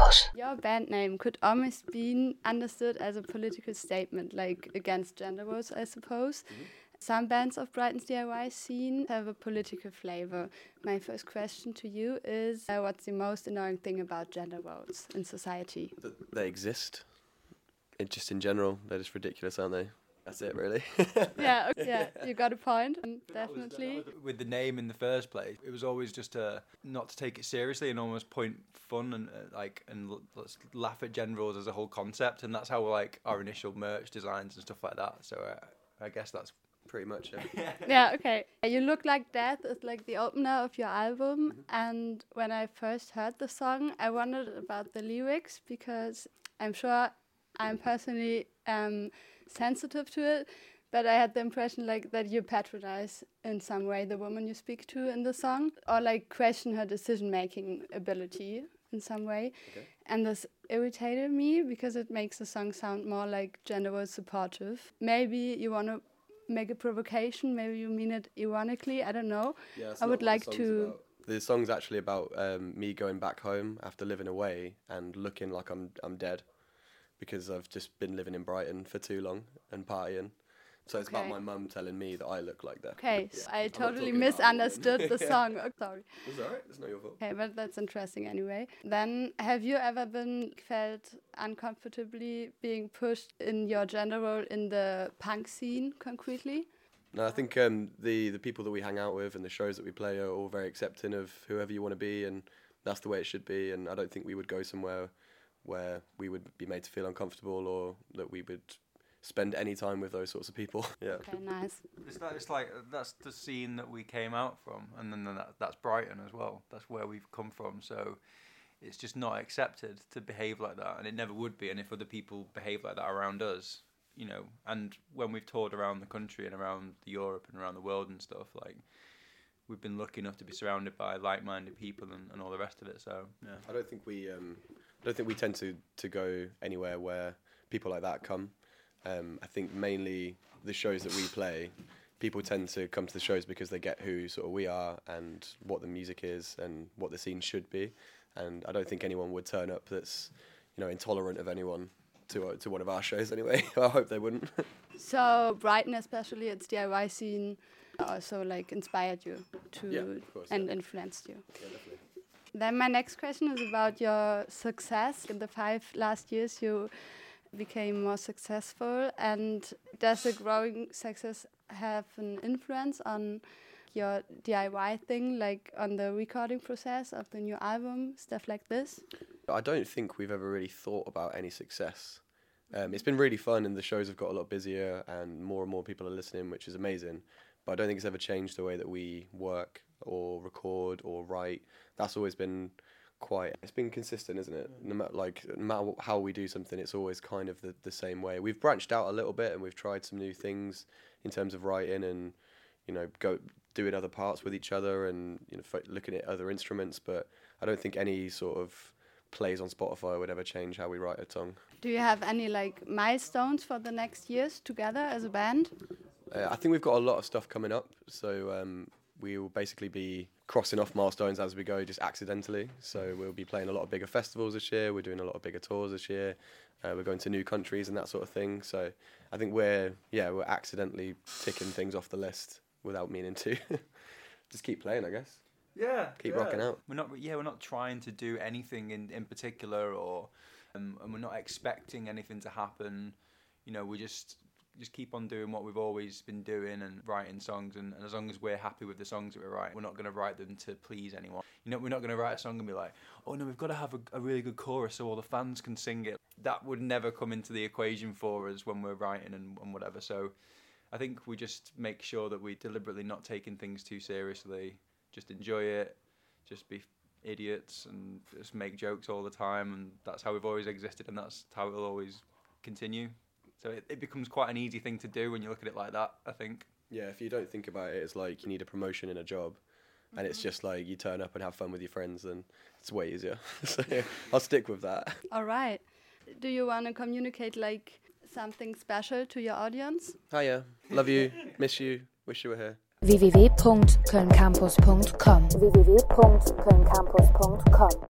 Campus. Your band name could almost be understood as a political statement, like against gender roles, I suppose. Mm-hmm. Some bands of Brighton's DIY scene have a political flavor. My first question to you is, what's the most annoying thing about gender roles in society? They exist. Just in general, they're just ridiculous, aren't they? That's it, really. Yeah, you got a point, definitely. With the name in the first place, it was always just not to take it seriously and almost point fun and let's laugh at gender roles as a whole concept, and that's how our initial merch designs and stuff like that. So I guess that's pretty much it. Yeah, okay. You Look Like Death is like the opener of your album, and when I first heard the song, I wondered about the lyrics because I'm sure I'm personally sensitive to it, but I had the impression that you patronize in some way the woman you speak to in the song, or question her decision-making ability in some way. Okay. And this irritated me because it makes the song sound more like gender role supportive. Maybe you want to make a provocation, maybe you mean it ironically, I don't know. Yeah, I would like to... About. The song's actually about me going back home after living away and looking like I'm dead, because I've just been living in Brighton for too long and partying. So it's about my mum telling me that I look like that. Okay, yeah. So I totally misunderstood the song. Oh, sorry. It's alright, it's not your fault. Okay, but that's interesting anyway. Then, have you ever felt uncomfortably being pushed in your gender role in the punk scene, concretely? No, I think the people that we hang out with and the shows that we play are all very accepting of whoever you want to be, and that's the way it should be. And I don't think we would go somewhere where we would be made to feel uncomfortable or that we would spend any time with those sorts of people. Yeah. Okay, nice. It's like that's the scene that we came out from, and then that's Brighton as well. That's where we've come from. So it's just not accepted to behave like that, and it never would be. And if other people behave like that around us, and when we've toured around the country and around Europe and around the world and stuff, we've been lucky enough to be surrounded by like-minded people and all the rest of it. So yeah. I don't think we tend to go anywhere where people like that come. I think mainly the shows that we play, people tend to come to the shows because they get who sort of we are and what the music is and what the scene should be. And I don't think anyone would turn up that's, intolerant of anyone to one of our shows anyway. I hope they wouldn't. So Brighton, especially its DIY scene, also inspired you to and influenced you. Yeah, definitely. Then my next question is about your success. In the 5 last years, you became more successful, and does the growing success have an influence on your DIY thing, on the recording process of the new album, stuff like this? I don't think we've ever really thought about any success. It's been really fun, and the shows have got a lot busier and more people are listening, which is amazing, but I don't think it's ever changed the way that we work or record or write. That's always been it's been consistent, isn't it? No matter how we do something, it's always kind of the same way. We've branched out a little bit and we've tried some new things in terms of writing and, go doing other parts with each other and, looking at other instruments, but I don't think any sort of plays on Spotify would ever change how we write a song. Do you have any milestones for the next years together as a band? I think we've got a lot of stuff coming up, so we will basically be crossing off milestones as we go, just accidentally. So we'll be playing a lot of bigger festivals this year. We're doing a lot of bigger tours this year. We're going to new countries and that sort of thing. So I think we're accidentally ticking things off the list without meaning to. Just keep playing, I guess. Yeah. Keep rocking out. We're not trying to do anything in particular, or and we're not expecting anything to happen. We just keep on doing what we've always been doing and writing songs, and as long as we're happy with the songs that we write, we're not going to write them to please anyone. We're not going to write a song and be like, oh no, we've got to have a really good chorus so all the fans can sing it. That would never come into the equation for us when we're writing and whatever. So I think we just make sure that we deliberately not taking things too seriously, just enjoy it, just be idiots and just make jokes all the time, and that's how we've always existed, and that's how it will always continue. So it becomes quite an easy thing to do when you look at it like that, I think. Yeah, if you don't think about it, it's like you need a promotion in a job, and it's just like you turn up and have fun with your friends, and it's way easier. So I'll stick with that. All right. Do you want to communicate something special to your audience? Hiya, love you, miss you, wish you were here. www.kölncampus.com